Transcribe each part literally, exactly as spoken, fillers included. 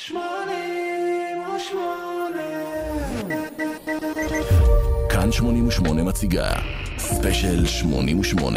שמונים ושמונה. כאן שמונים ושמונה מציגה ספיישל שמונים ושמונה.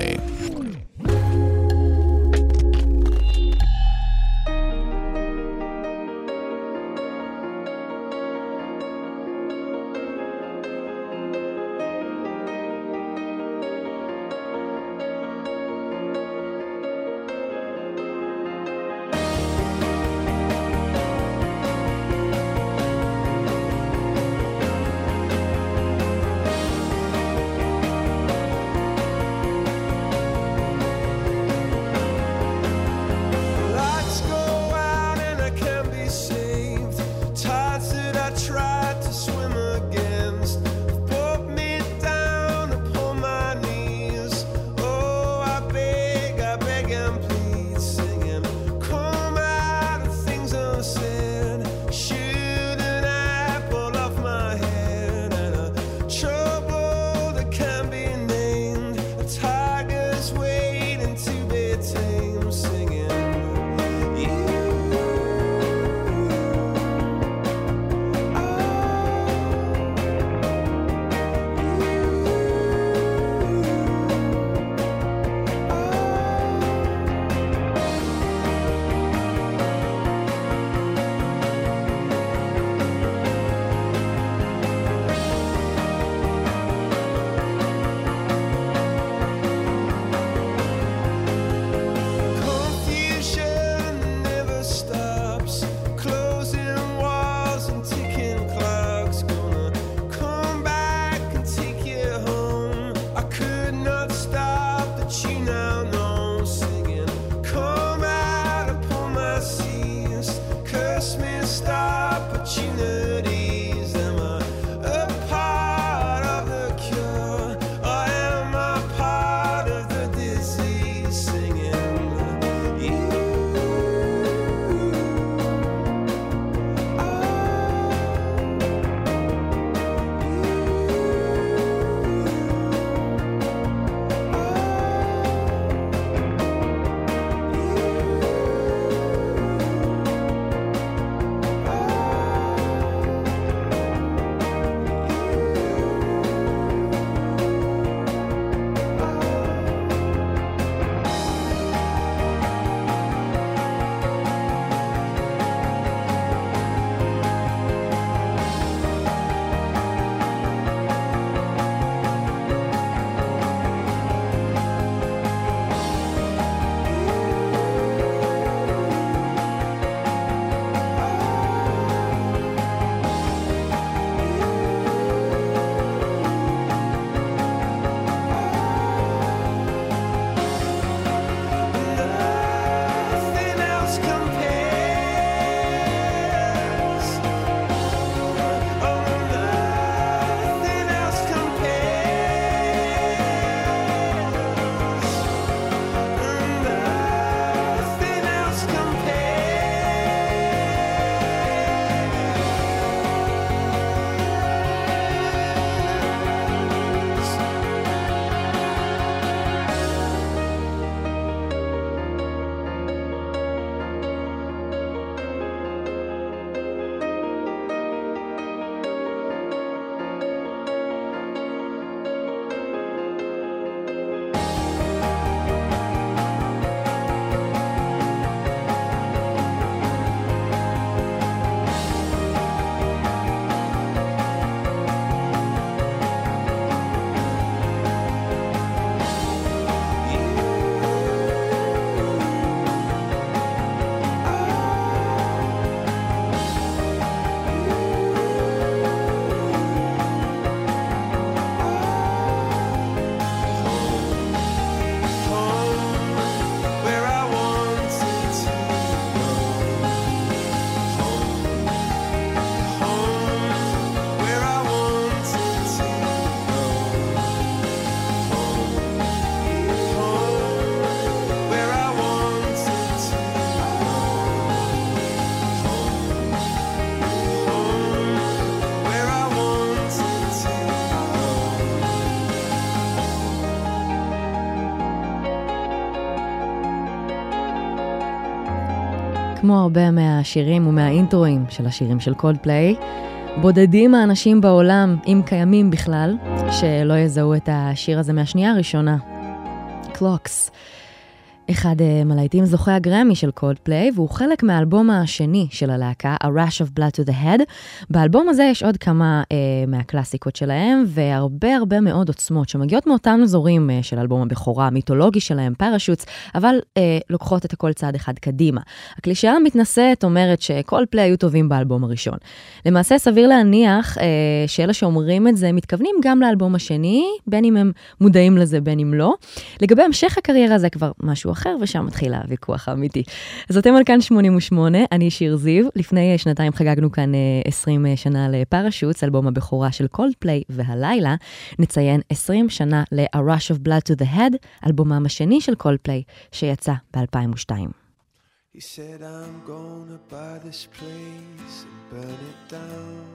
כמו הרבה מהשירים ומהאינטרואים של השירים של קולדפליי, בודדים האנשים בעולם, אם קיימים בכלל, שלא יזהו את השיר הזה מהשנייה הראשונה. Clocks. אחד מלהיטים זוכי הגרמי של קולדפליי, והוא חלק מהאלבום השני של הלהקה, A Rush of Blood to the Head. באלבום הזה יש עוד כמה אה, מהקלאסיקות שלהם, והרבה הרבה מאוד עוצמות שמגיעות מאותם אזורים אה, של אלבום הבכורה, המיתולוגי שלהם, פרשוטס, אבל אה, לוקחות את הכל צעד אחד קדימה. הקלישאה המתנשאת אומרת שקולדפליי היו טובים באלבום הראשון. למעשה סביר להניח אה, שאלה שאומרים את זה מתכוונים גם לאלבום השני, בין אם הם מודעים לזה, בין אם לא. לגבי המשך הקריירה זה כבר משהו אחר, ושם מתחיל הוויכוח האמיתי. אז אתם על כאן שמונים ושמונה, אני שיר זיו. לפני שנתיים חגגנו כאן עשרים שנה לפרשוטס, אלבום הבכורה של קולדפליי, והלילה נציין עשרים שנה ל-A Rush of Blood to the Head, אלבומם השני של קולדפליי, שיצא ב-אלפיים ושתיים. He said I'm gonna buy this place and burn it down.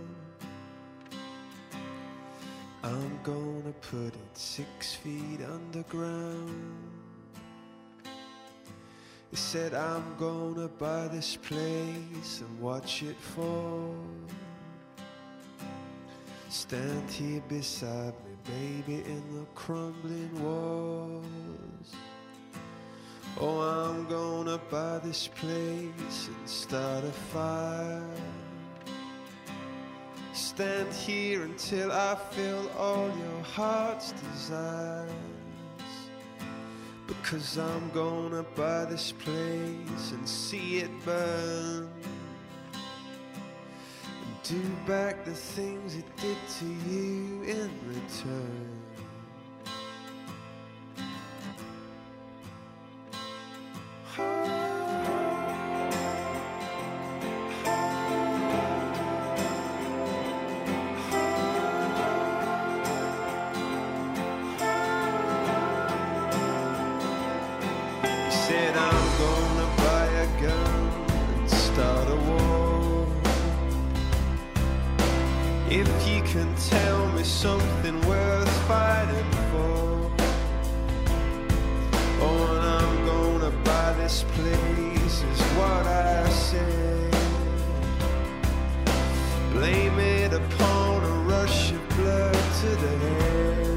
I'm gonna put it six feet underground. He said I'm gonna buy this place and watch it fall. Stand here beside me, baby, in the crumbling walls. Oh, I'm gonna buy this place and start a fire. Stand here until I fill all your heart's desires. Because I'm gonna buy this place and see it burn, and do back the things it did to you in return. Something worth fighting for. Oh, and I'm gonna buy this place is what I say. Blame it upon a rush of blood to the head.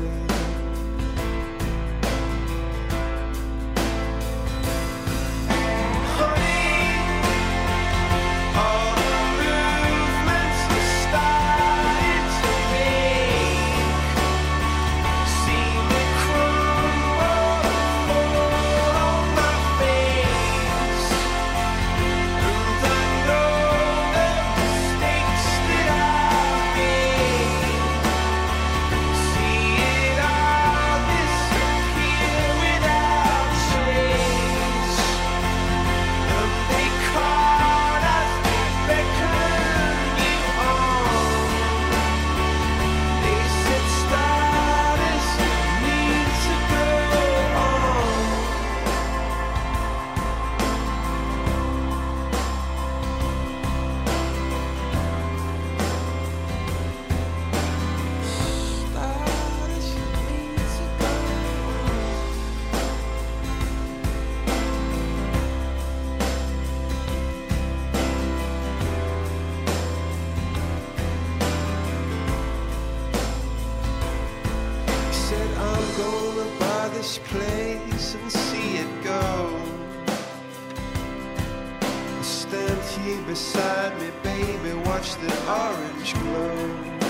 Beside me, baby, watch the orange glow.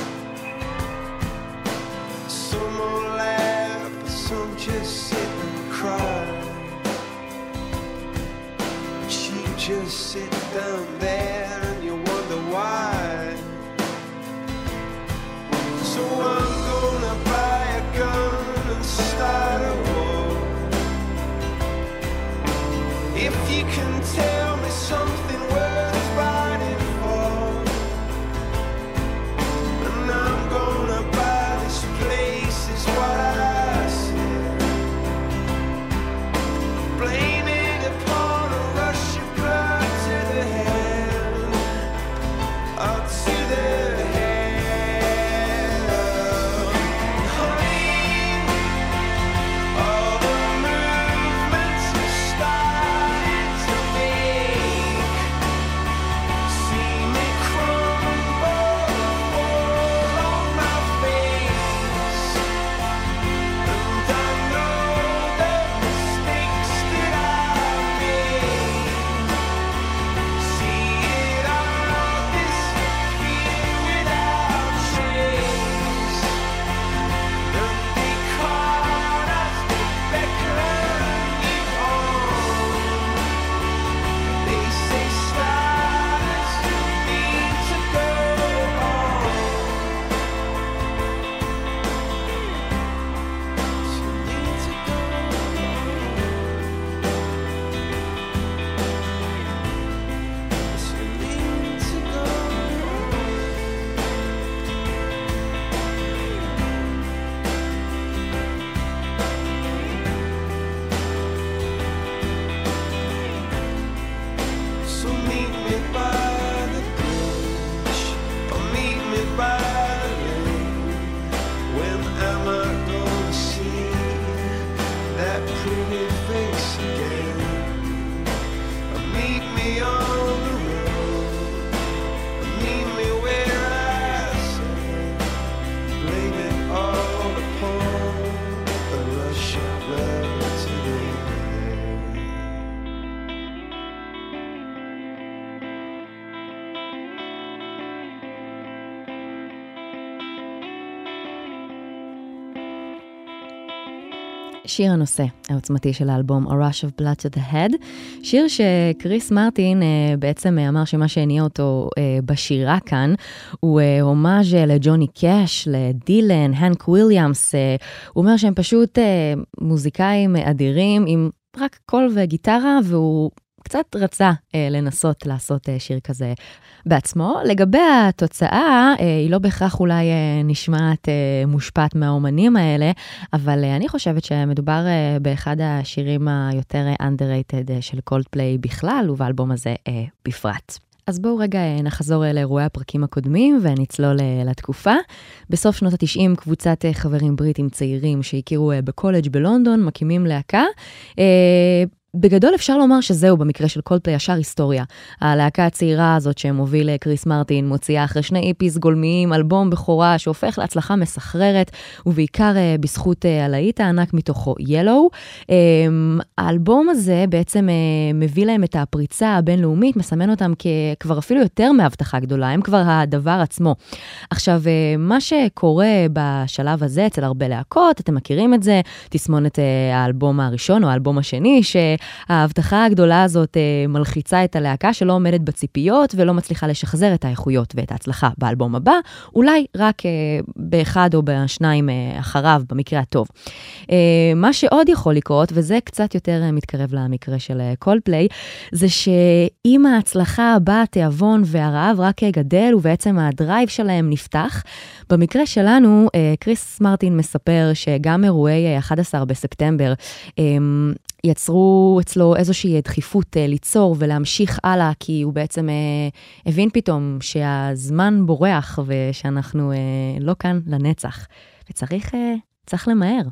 Some will laugh, some just sit and cry. But you just sit down there and you wonder why. So I'm gonna buy a gun and start a war. If you can tell me something worth fighting for, and I'm gonna buy this place is what I said. Blame it upon a rush of blood to the head. שיר הנושא העוצמתי של האלבום A Rush of Blood to the Head, שיר שקריס מרטין בעצם אמר שמה שהניע אותו בשירה כאן הוא הומאז' לג'וני קאש, לדילן, הנק וויליאמס. הוא אומר שהם פשוט מוזיקאים אדירים עם רק קול וגיטרה, והוא קצת רצה אה, לנסות לעשות אה, שיר כזה בעצמו. לגבי התוצאה, אה, היא לא בהכרח אולי אה, נשמעת אה, מושפעת מהאומנים האלה, אבל אה, אני חושבת שמדובר אה, באחד השירים היותר אה, underrated אה, של קולדפליי בכלל, ובאלבום הזה אה, בפרט. אז בואו רגע אה, נחזור אה, לאירועי הפרקים הקודמים ונצלול אה, לתקופה. בסוף שנות ה-תשעים קבוצת אה, חברים בריטים צעירים שהכירו אה, בקולג' בלונדון מקימים להקה. אה, בגדול אפשר לומר שזהו במקרה של קולדפליי ישר היסטוריה. הלהקה הצעירה הזאת שמוביל קריס מרטין מוציאה אחרי שני איפיס גולמיים אלבום בכורה שהופך להצלחה מסחררת, ובעיקר בזכות הלהיט הענק מתוכו ילו. האלבום הזה בעצם מביא להם את הפריצה הבינלאומית, מסמן אותם כבר אפילו יותר מהבטחה גדולה, הם כבר הדבר עצמו. עכשיו, מה שקורה בשלב הזה אצל הרבה להקות, אתם מכירים את זה, תסמונת האלבום הראשון או האלבום השני, ש ההבטחה הגדולה הזאת אה, מלחיצה את הלהקה שלא עומדת בציפיות ולא מצליחה לשחזר את האיכויות ואת ההצלחה באלבום הבא, אולי רק אה, באחד או בשניים אה, אחריו במקרה הטוב. אה, מה שעוד יכול לקרות, וזה קצת יותר אה, מתקרב למקרה של קולדפליי, זה שאם ההצלחה הבאה תיאבון והרעב רק גדל ובעצם הדרייב שלהם נפתח, במקרה שלנו אה, קריס מרטין מספר שגם אירועי אחד עשר בספטמבר אה, יצרו אצלו איזושהי דחיפות אה, ליצור ולהמשיך הלאה, כי הוא בעצם אה, הבין פתאום שהזמן בורח ושאנחנו אה, לא כאן לנצח, וצריך אה, צריך למהר.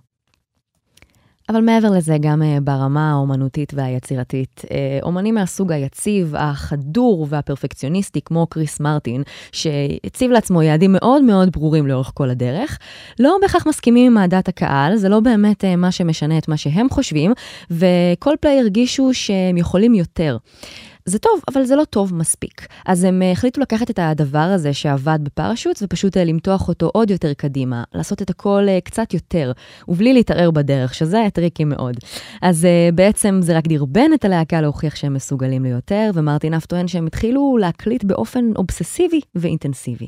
אבל מעבר לזה, גם uh, ברמה האומנותית והיצירתית, uh, אומנים מהסוג היציב, החדור והפרפקציוניסטי, כמו קריס מרטין, שהציב לעצמו יעדים מאוד מאוד ברורים לאורך כל הדרך, לא בהכרח מסכימים עם מעדת הקהל, זה לא באמת uh, מה שמשנה את מה שהם חושבים, וקולדפליי הרגישו שהם יכולים יותר. זה טוב, אבל זה לא טוב מספיק. אז הם החליטו לקחת את הדבר הזה שעבד בפרשוט, ופשוט למתוח אותו עוד יותר קדימה, לעשות את הכל קצת יותר, ובלי להתערער בדרך, שזה טריקי מאוד. אז בעצם זה רק דרבן את הלהקה להוכיח שהם מסוגלים ליותר, ומרטין אף טוען שהם התחילו להקליט באופן אובססיבי ואינטנסיבי.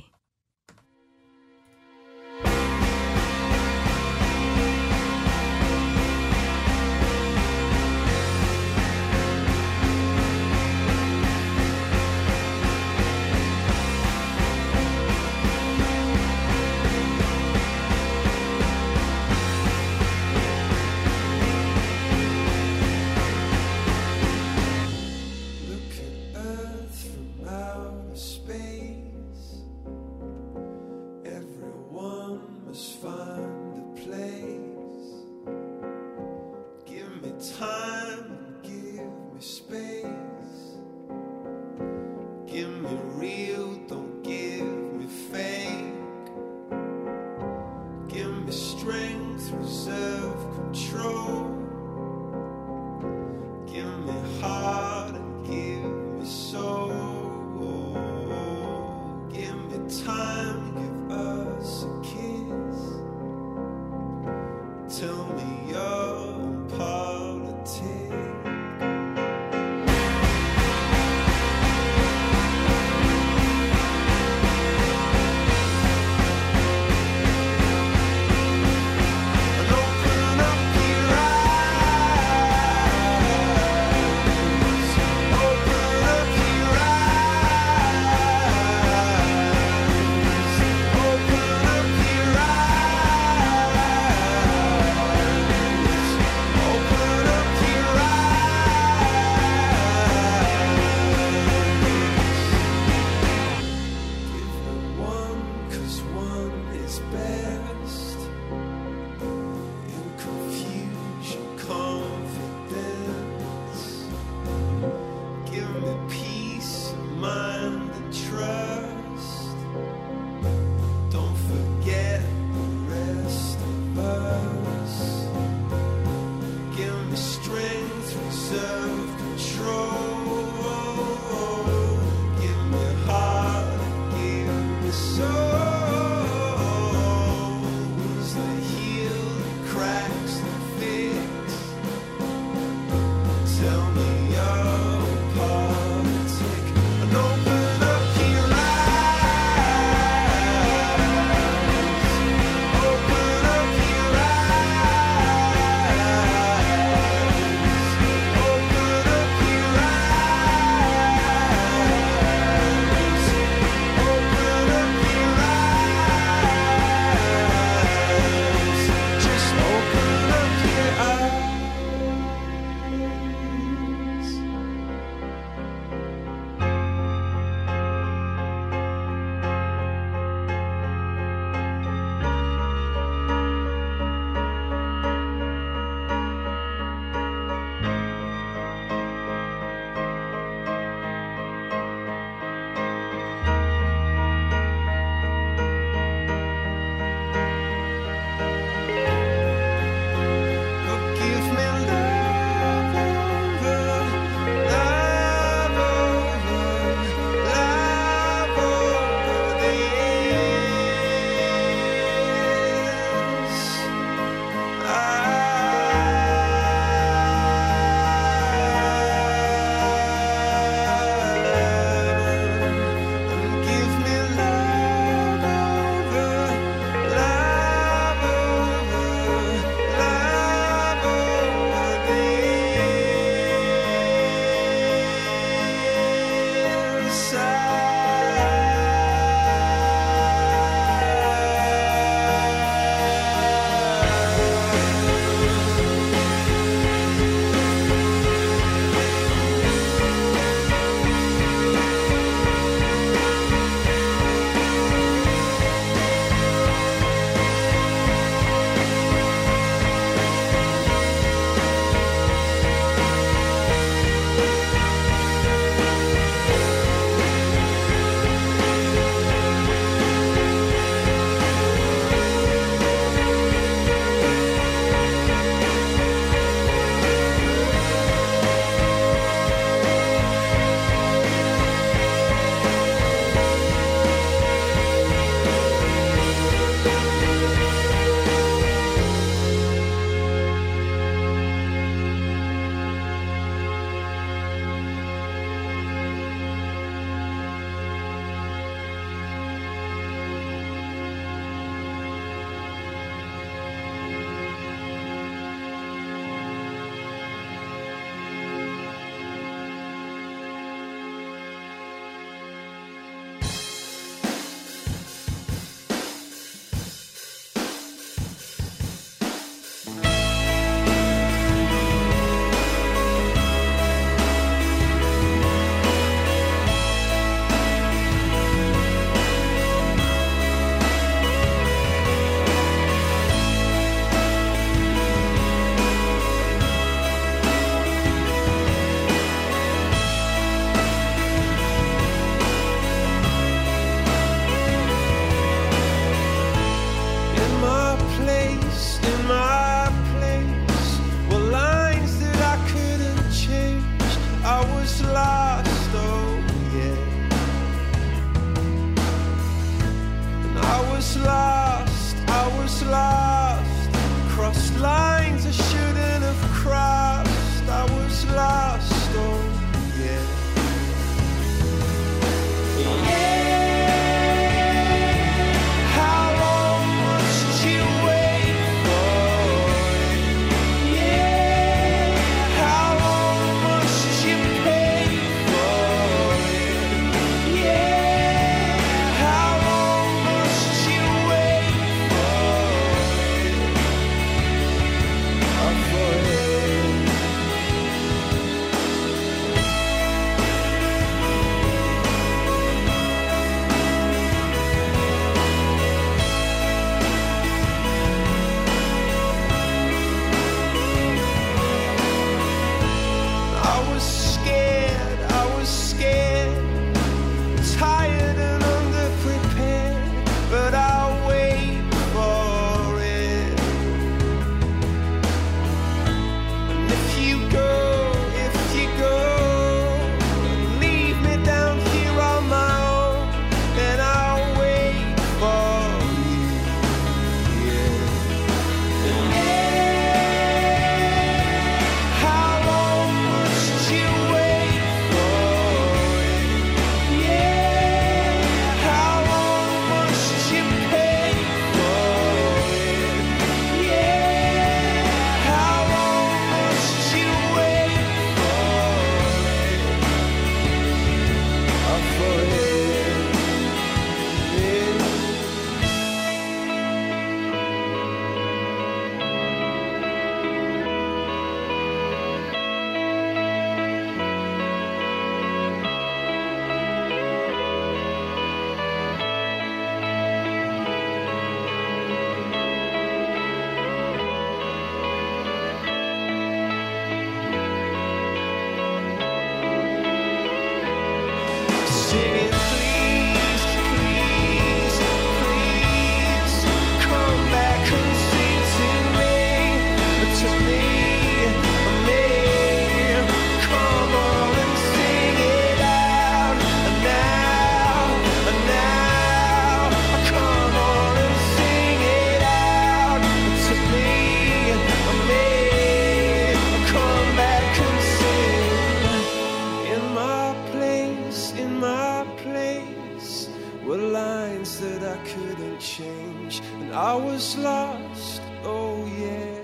were lines that I couldn't change, and I was lost, oh yeah,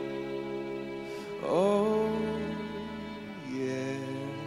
oh yeah.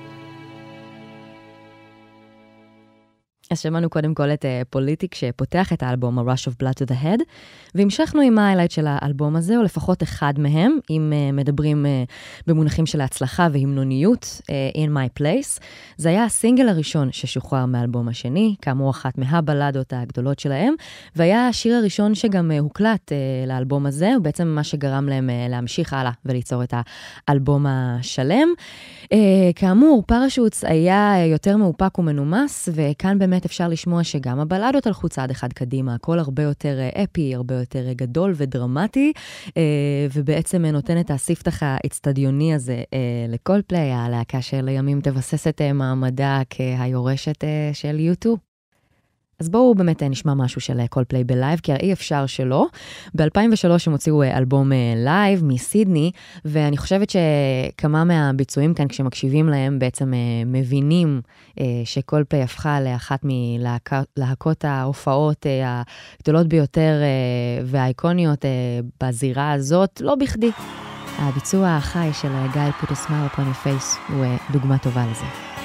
אז שמענו קודם כל את פוליטיק שפותח את האלבום A Rush of Blood to the Head, והמשכנו עם ההיילייט של האלבום הזה, או לפחות אחד מהם, אם uh, מדברים uh, במונחים של ההצלחה והמנוניות, uh, In My Place. זה היה הסינגל הראשון ששוחרר מהאלבום השני, כאמור אחת מהבלדות הגדולות שלהם, והיה השיר הראשון שגם uh, הוקלט uh, לאלבום הזה, ובעצם מה שגרם להם uh, להמשיך הלאה וליצור את האלבום השלם. Uh, כאמור, פרשוטס היה יותר מאופק ומנומס, וכאן באמת אפשר לשמוע שגם הבלדות הלכו צעד אחד קדימה, הכל הרבה יותר אפי, הרבה יותר גדול ודרמטי, ובעצם נותן את הספתח האצטדיוני הזה לקולפליי, הלהקה שלימים תבסס את מעמדה כהיורשת של יו טו. אז בואו באמת נשמע משהו של קולפליי בלייב, כי אי אפשר שלא. ב-אלפיים ושלוש הם הוציאו אלבום לייב מסידני, ואני חושבת שכמה מהביצועים כאן, כשמקשיבים להם, בעצם מבינים שקולפליי הפכה לאחת מלהקות ההופעות הגדולות ביותר והאיקוניות בזירה הזאת, לא בכדי. הביצוע החי של גיא Put a Smile Upon Your Face הוא דוגמה טובה לזה.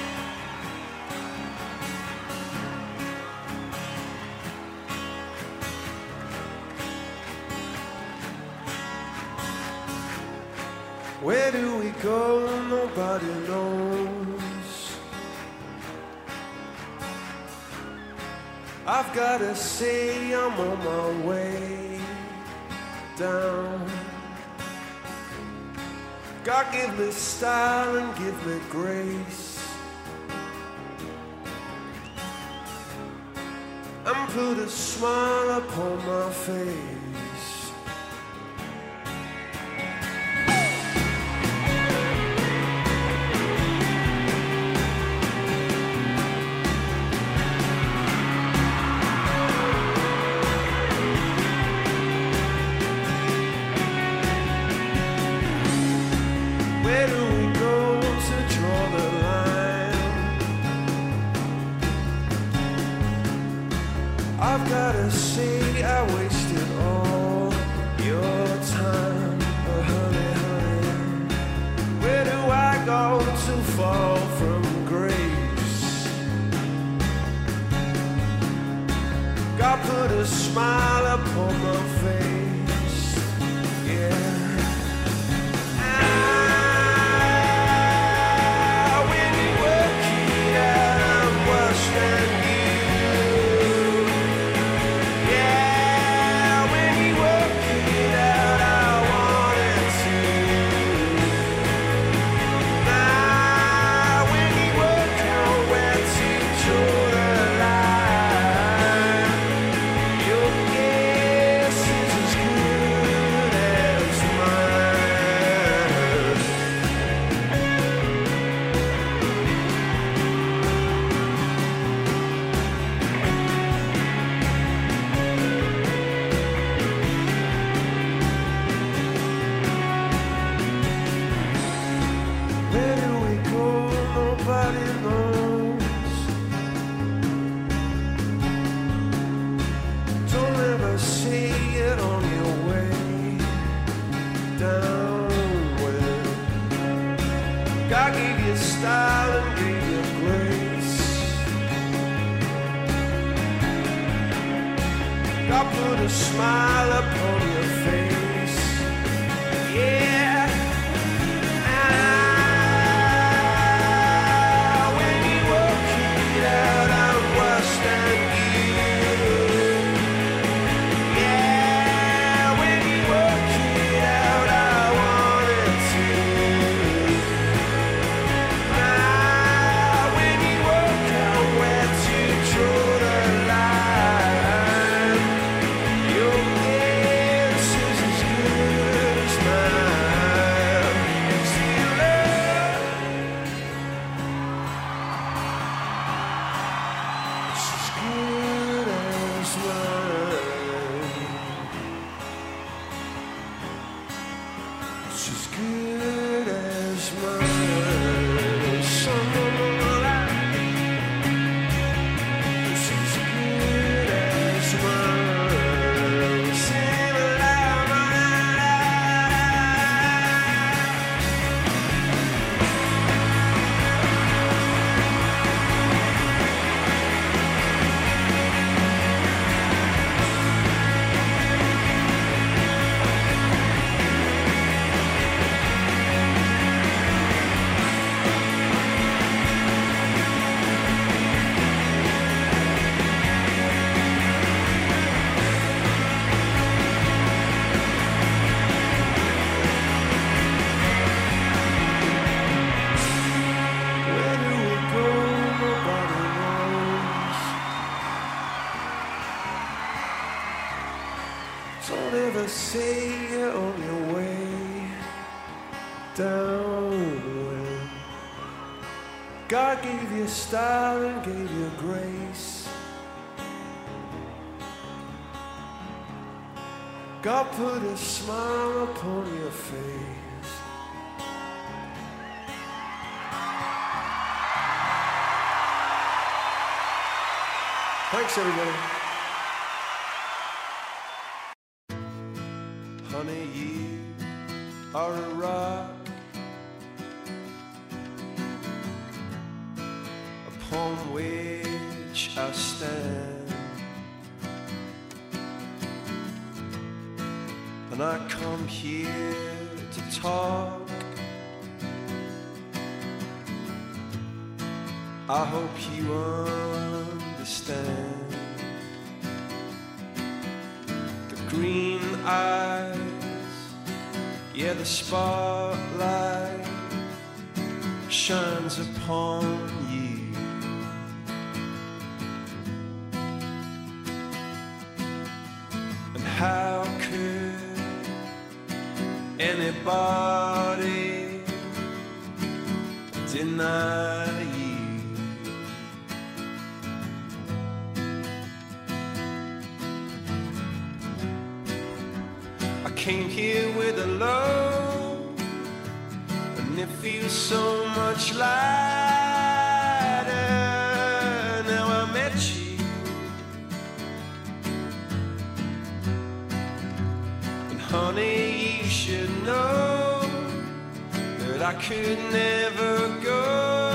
Where do we go? Nobody knows. I've gotta say I'm on my way down. God give me style and give me grace, and put a smile upon my face. I've gotta say I wasted all your time, oh honey, honey. Where do I go to fall from grace? God put a smile upon my face, yeah. Ah, when you work it out, I'm worse than you. Smile upon your face, yeah. Ah, when you work it out, I'm worse than you. Yeah, when you work it out, I wanted to. Ah, when you work out where to draw the line. Your guess is Don't ever say you're on your way down when God gave you style and gave you grace. God put a smile upon your face. Thanks, everybody. Honey, you are a rock upon which I stand, and I come here to talk. I hope you understand. The green eyes, yeah, the spotlight shines upon you. And how could anybody deny you? I came here with a load, and it feels so much lighter now I met you. And honey, you should know that I could never go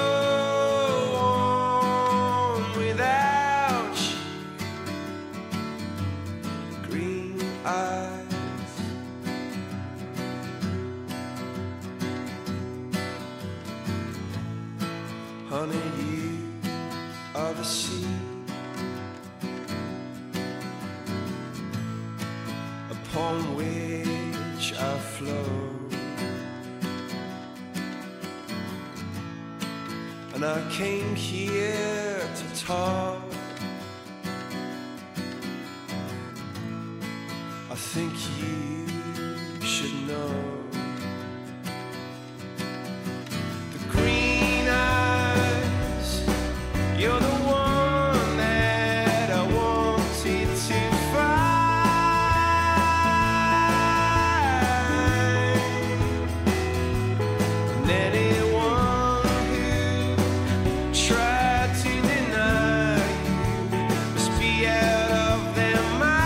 on without you. Green eyes, honey, you are the sea upon which I flow. And I came here to talk. I think you should know. The green eyes, you're the one that I wanted to find. And anyone who tried to deny you must be out of their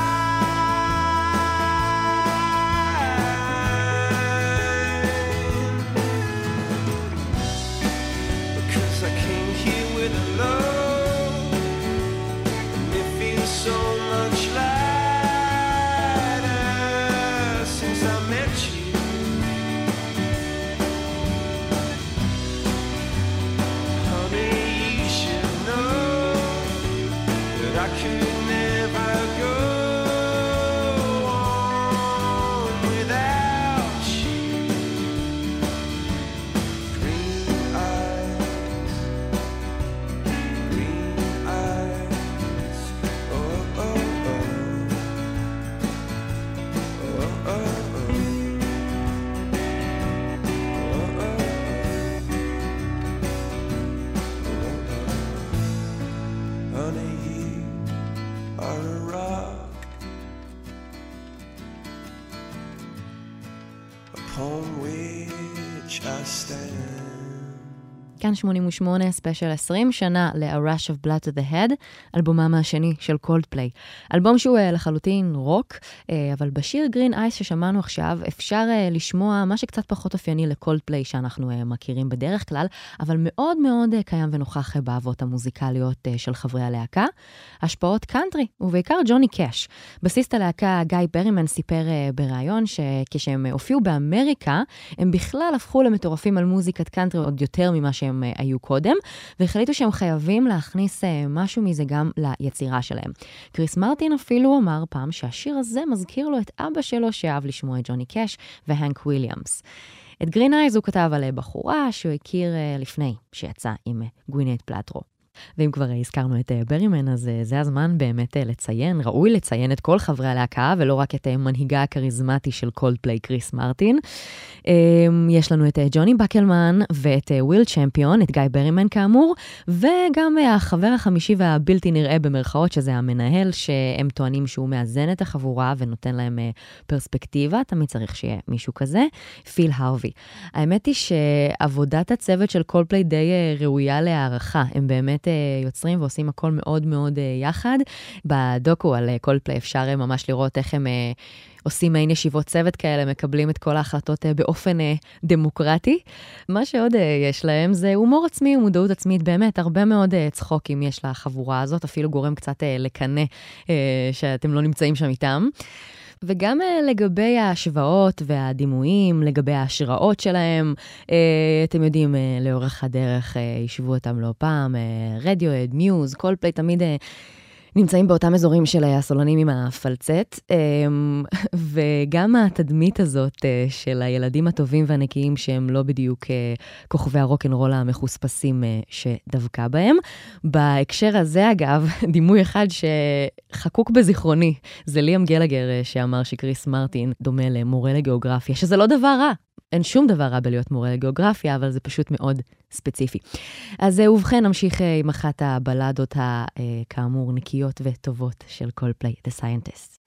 mind. Because I came here with a load, and it feels so much lighter since I met you. Honey, you should know that I could never go on without you. Green eyes, green eyes, oh oh oh, oh oh oh, oh oh oh. Honey, you are a rock upon which I stand. כאן שמונים ושמונה, ספיישל עשרים שנה ל-A Rush of Blood to the Head, אלבומם השני של קולדפליי. אלבום שהוא uh, לחלוטין רוק, uh, אבל בשיר גרין אייס ששמענו עכשיו אפשר uh, לשמוע מה שקצת פחות אופייני לקולדפליי שאנחנו uh, מכירים בדרך כלל, אבל מאוד מאוד uh, קיים ונוכח uh, באהבות המוזיקליות uh, של חברי הלהקה. השפעות קאנטרי, ובעיקר ג'וני קאש. בסיסט הלהקה גיא ברימן סיפר uh, בראיון שכשהם uh, הופיעו באמריקה, הם בכלל הפכו למטורפים על מוזיקת קאנטרי עוד יותר ממה שהם uh, היו קודם, והחליטו שהם חייבים להכניס uh, משהו מזה גם ליצירה שלהם. קריס מרטין אפילו אמר פעם שהשיר הזה מזכיר לו את אבא שלו שאהב לשמוע את ג'וני קאש והנק וויליאמס. את גרין אייז הוא כתב על בחורה שהוא הכיר uh, לפני שיצא עם uh, גווינט פלטרו. ואם כבר הזכרנו את ברימן, אז זה הזמן באמת לציין, ראוי לציין את כל חברי הלהקה, ולא רק את מנהיגה הכריזמטי של קולדפליי, קריס מרטין. יש לנו את ג'וני בקלמן ואת וויל צ'מפיון, את גיא ברימן כאמור, וגם החבר החמישי והבלתי נראה במרכאות, שזה המנהל, שהם טוענים שהוא מאזן את החבורה ונותן להם פרספקטיבה, תמיד צריך שיהיה מישהו כזה, פיל הרווי. האמת היא שעבודת הצוות של קולדפליי די ראויה להערכה, הם באמת יוצרים ועושים הכל מאוד מאוד יחד. בדוקו על קולדפליי אפשר ממש לראות איך הם עושים מעין ישיבות צוות כאלה, מקבלים את כל ההחלטות באופן דמוקרטי. מה שעוד יש להם זה הומור עצמי ומודעות עצמית, באמת הרבה מאוד צחוקים יש לחבורה הזאת, אפילו גורם קצת לקנה שאתם לא נמצאים שם איתם. וגם לגבי ההשוואות והדימויים, לגבי ההשראות שלהם, אתם יודעים, לאורך הדרך ישבו אותם לא פעם, רדיואד, מיוז, קולדפליי תמיד נמצאים באותם אזורים של הסולנים עם הפלצט, וגם התדמית הזאת של הילדים הטובים והנקיים שהם לא בדיוק כוכבי הרוק'נ'רול המחוספסים שדווקא בהם. בהקשר הזה אגב, דימוי אחד שחקוק בזיכרוני, זה ליאם גלגר שאמר שקריס מרטין דומה למורה לגיאוגרפיה, שזה לא דבר רע. אין שום דבר רע בלהיות מורה לגיאוגרפיה, אבל זה פשוט מאוד ספציפי. אז ובכן, נמשיך עם אחת הבלדות הכאמור נקיות וטובות של קולדפליי, The Scientist.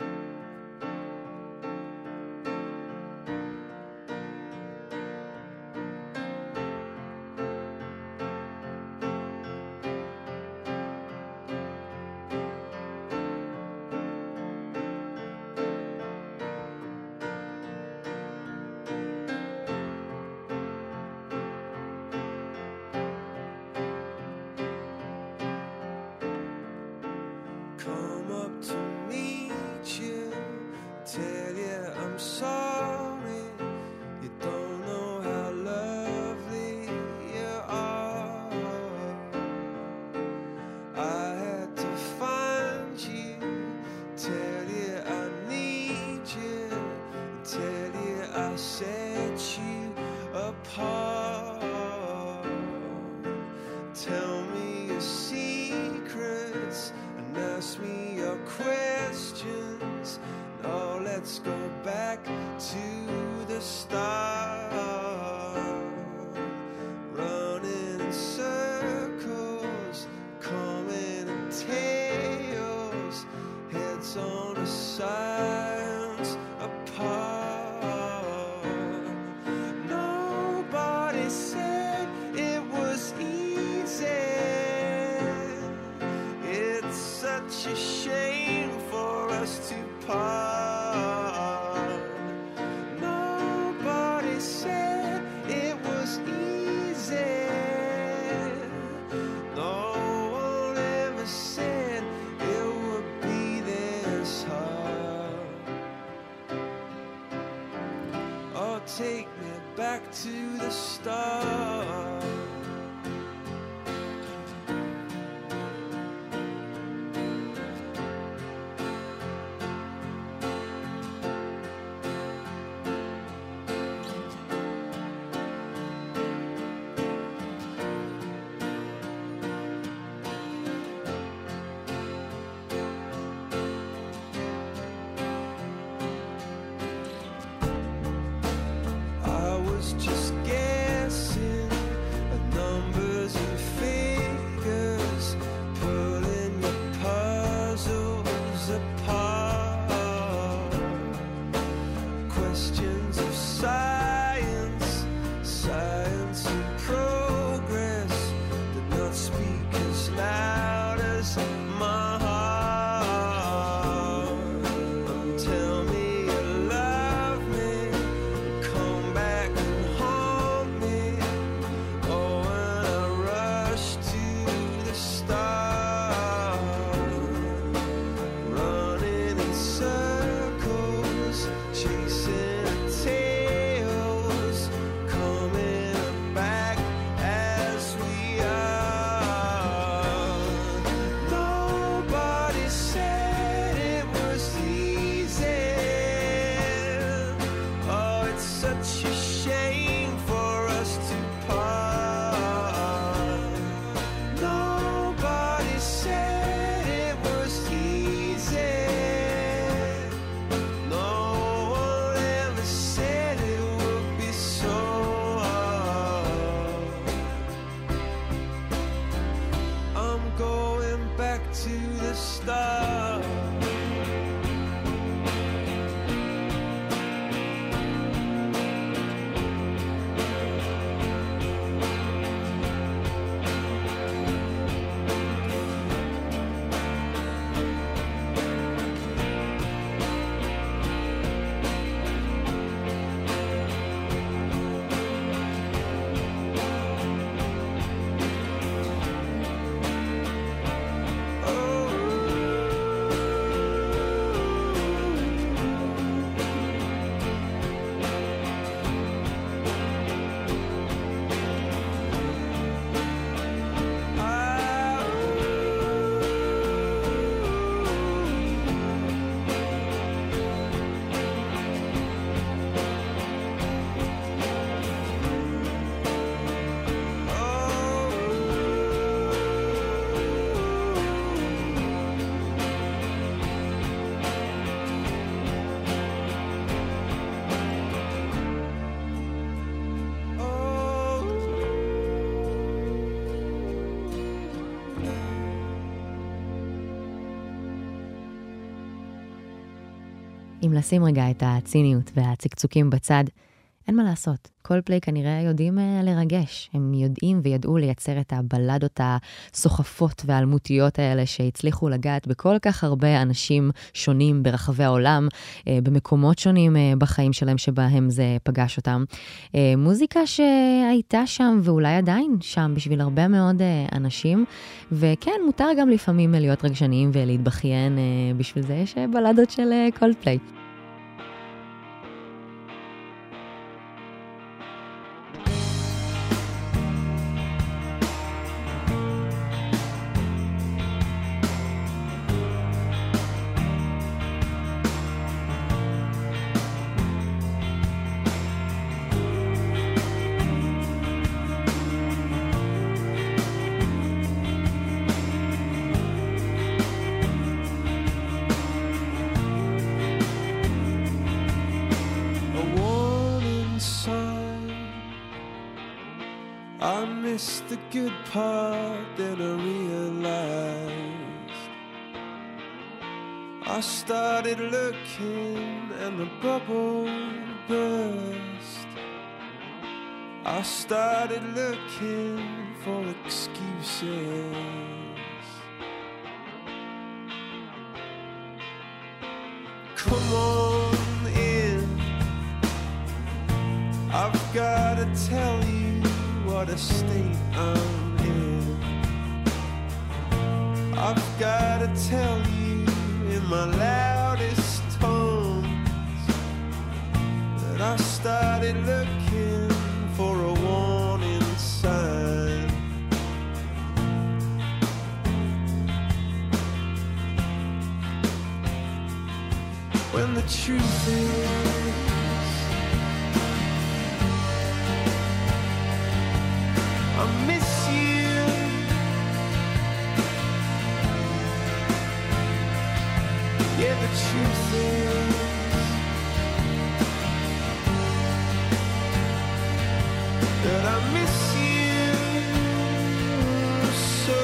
Take me back to the start. Just guessing at numbers and figures, pulling your puzzles apart. Questions of science, science and progress did not speak as loud as my heart. And tell me you love me, come back. Running אם לשים רגע את הציניות והצקצוקים בצד, אין מה לעשות. קולפליי כנראה יודעים לרגש. הם יודעים וידעו לייצר את הבלדות הסוחפות והאלמותיות האלה שהצליחו לגעת בכל כך הרבה אנשים שונים ברחבי העולם, במקומות שונים בחיים שלהם שבהם זה פגש אותם. מוזיקה שהייתה שם ואולי עדיין שם בשביל הרבה מאוד אנשים, וכן, מותר גם לפעמים להיות רגשניים ולהתבכיין, בשביל זה יש בלדות של קולפליי. The good part that I realized, I started looking and the bubble burst. I started looking for excuses. Come on in, I've gotta tell you what a state I'm in. I've gotta tell you in my loudest tones that I started looking for a warning sign. When the truth is I miss you. Yeah, the truth is that I miss you so.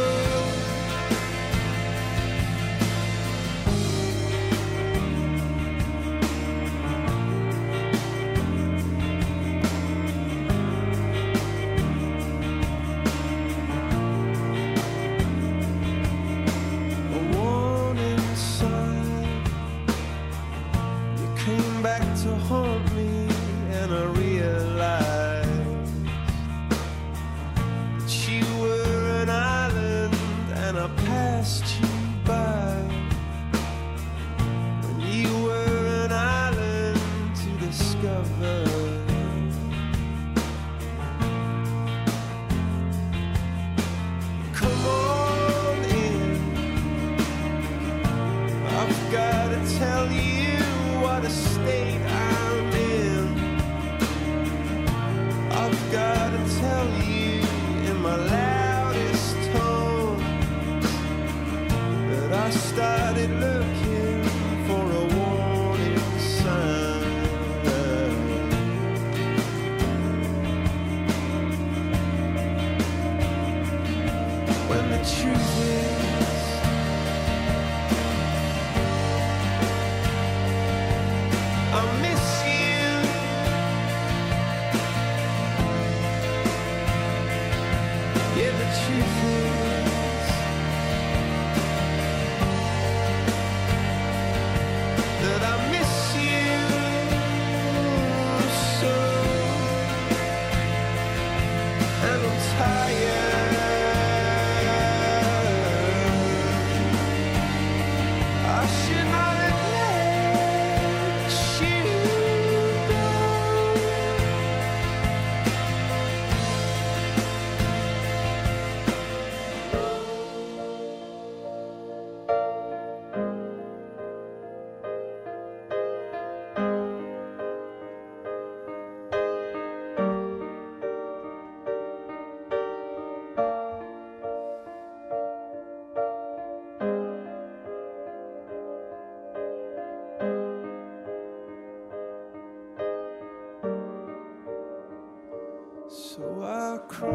So I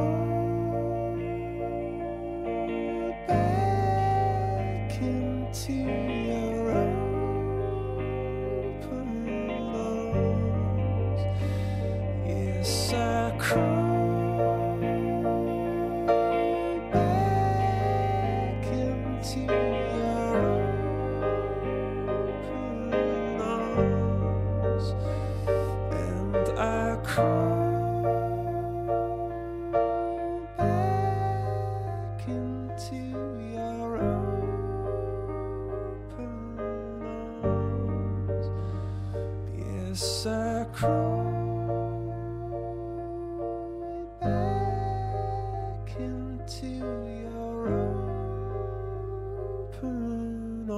crawl back into your open Yes, I crawl back into your open arms, and I crawl back into your open arms. Yes, I crawl back into your open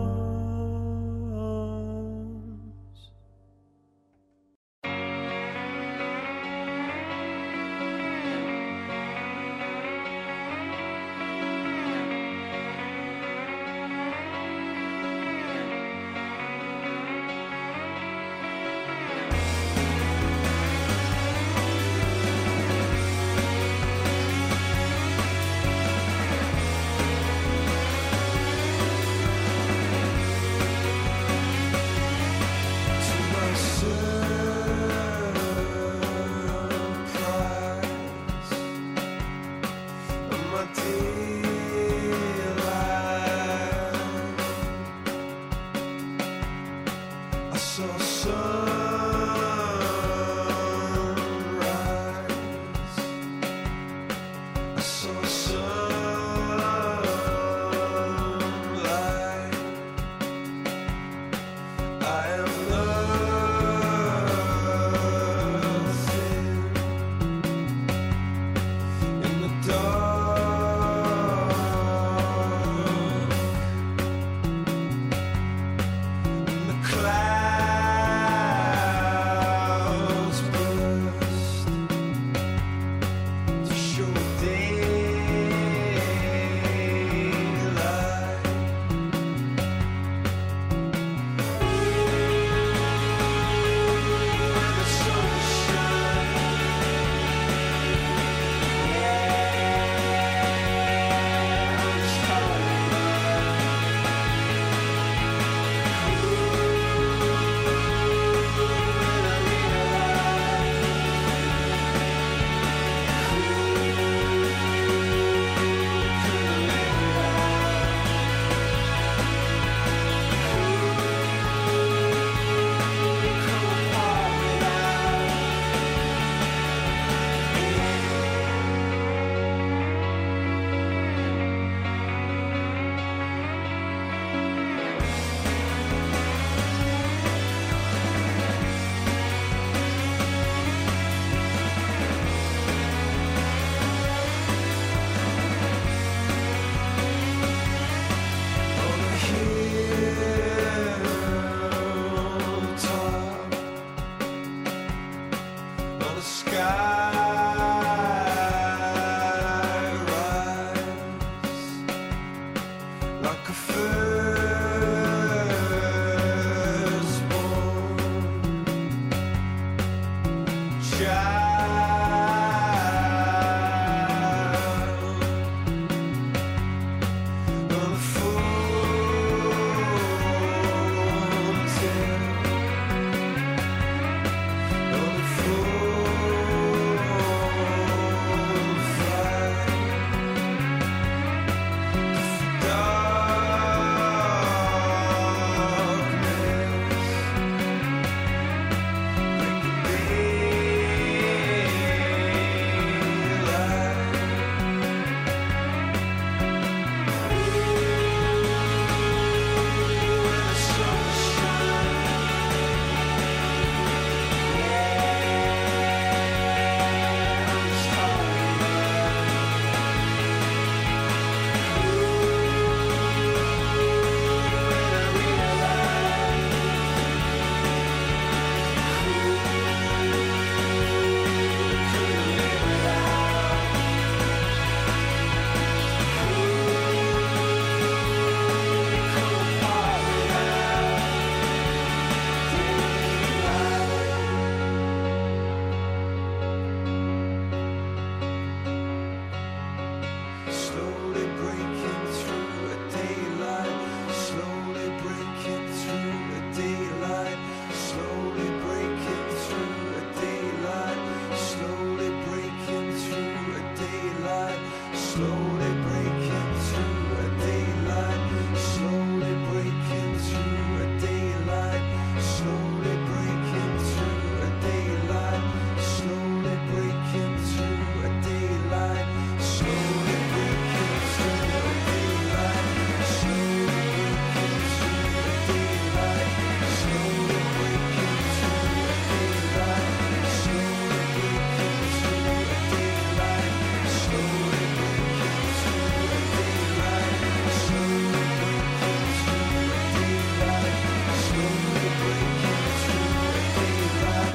arms. To my surprise and my delight, I saw sunrise, I saw sunlight. I am nothing in the dark. The clouds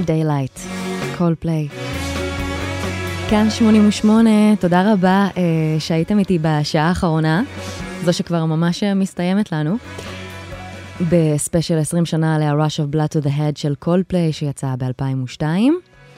Daylight, Coldplay. כאן שמונים ושמונה, תודה רבה אה, שהייתם איתי בשעה האחרונה, זו שכבר ממש מסתיימת לנו, בספיישל עשרים שנה ל-Rush of Blood to the Head של Coldplay שיצא ב-אלפיים ושתיים.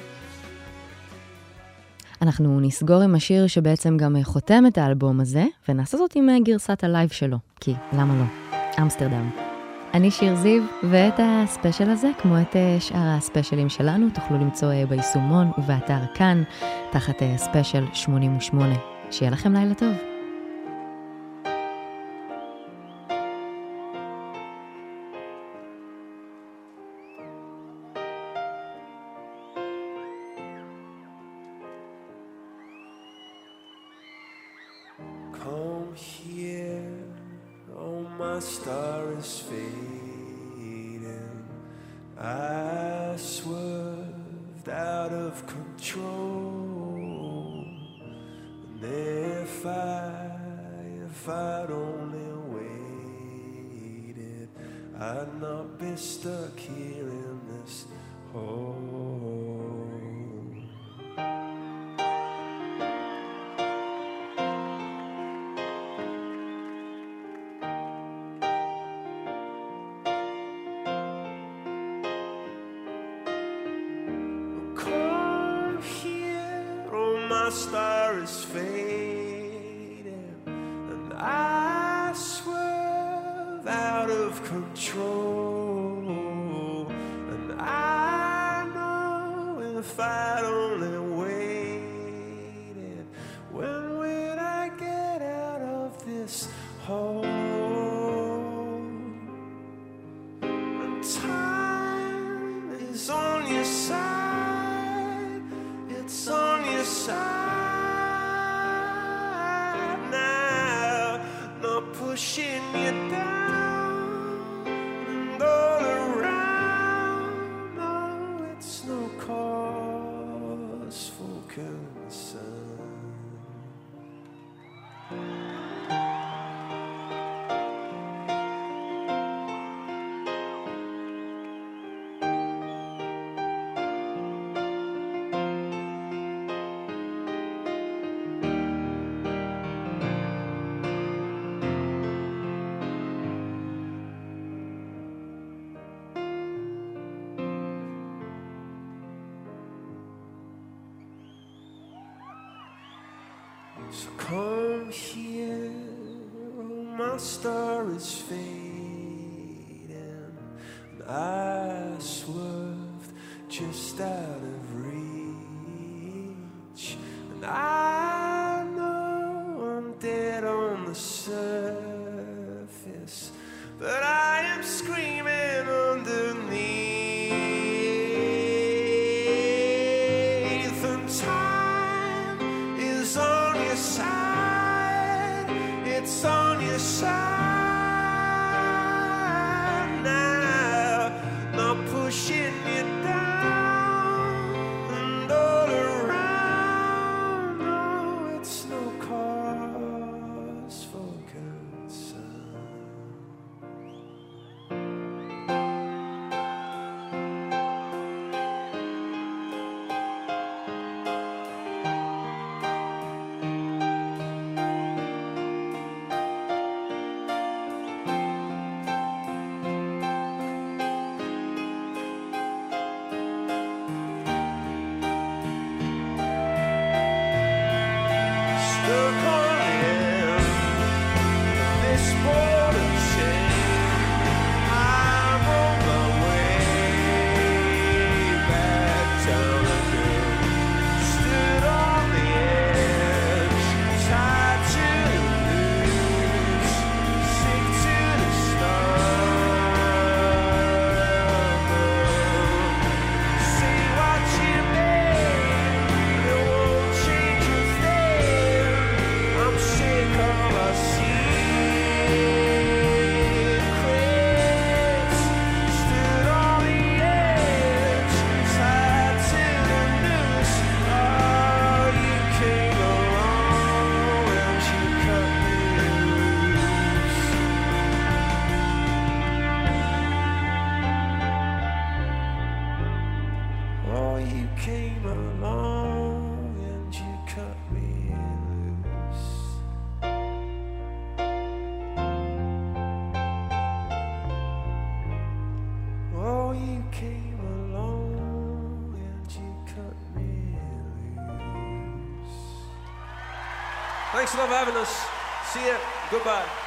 אנחנו נסגור עם השיר שבעצם גם חותם את האלבום הזה, ונעשה זאת עם גרסת הלייב שלו, כי למה לא? אמסטרדם. אני שיר זיו, ואת הספיישל הזה, כמו את שאר הספיישלים שלנו, תוכלו למצוא ביישומון ובאתר כאן, תחת ספיישל שמונים ושמונה. שיהיה לכם לילה טוב. Come here, oh my star is fading. I swerved out of control. And if I, if I'd only waited, I'd not be stuck here in this hole. My star is fading, and I swerve out of control. And I know if I'd only waited, when would I get out of this hole? And time is on your side, it's on your side. Pushing you down and all around. No, it's no cause for concern. So come here, oh my star is fading, and I swerved just out of reach. And I know I'm dead on the surface, but I am screaming underneath. And time is on your side, it's on your side. came along and you cut me loose. Oh, you came along and you cut me loose. Thanks a lot for having us. See ya. Goodbye.